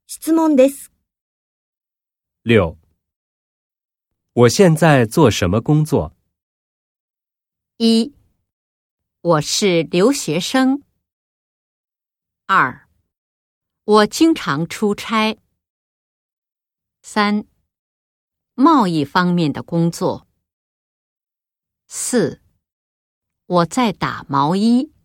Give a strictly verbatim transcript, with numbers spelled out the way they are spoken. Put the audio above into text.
質問です。 六，我现在做什么工作？ 一，我是留学生。二，我经常出差。三，贸易方面的工作。四，我在打毛衣。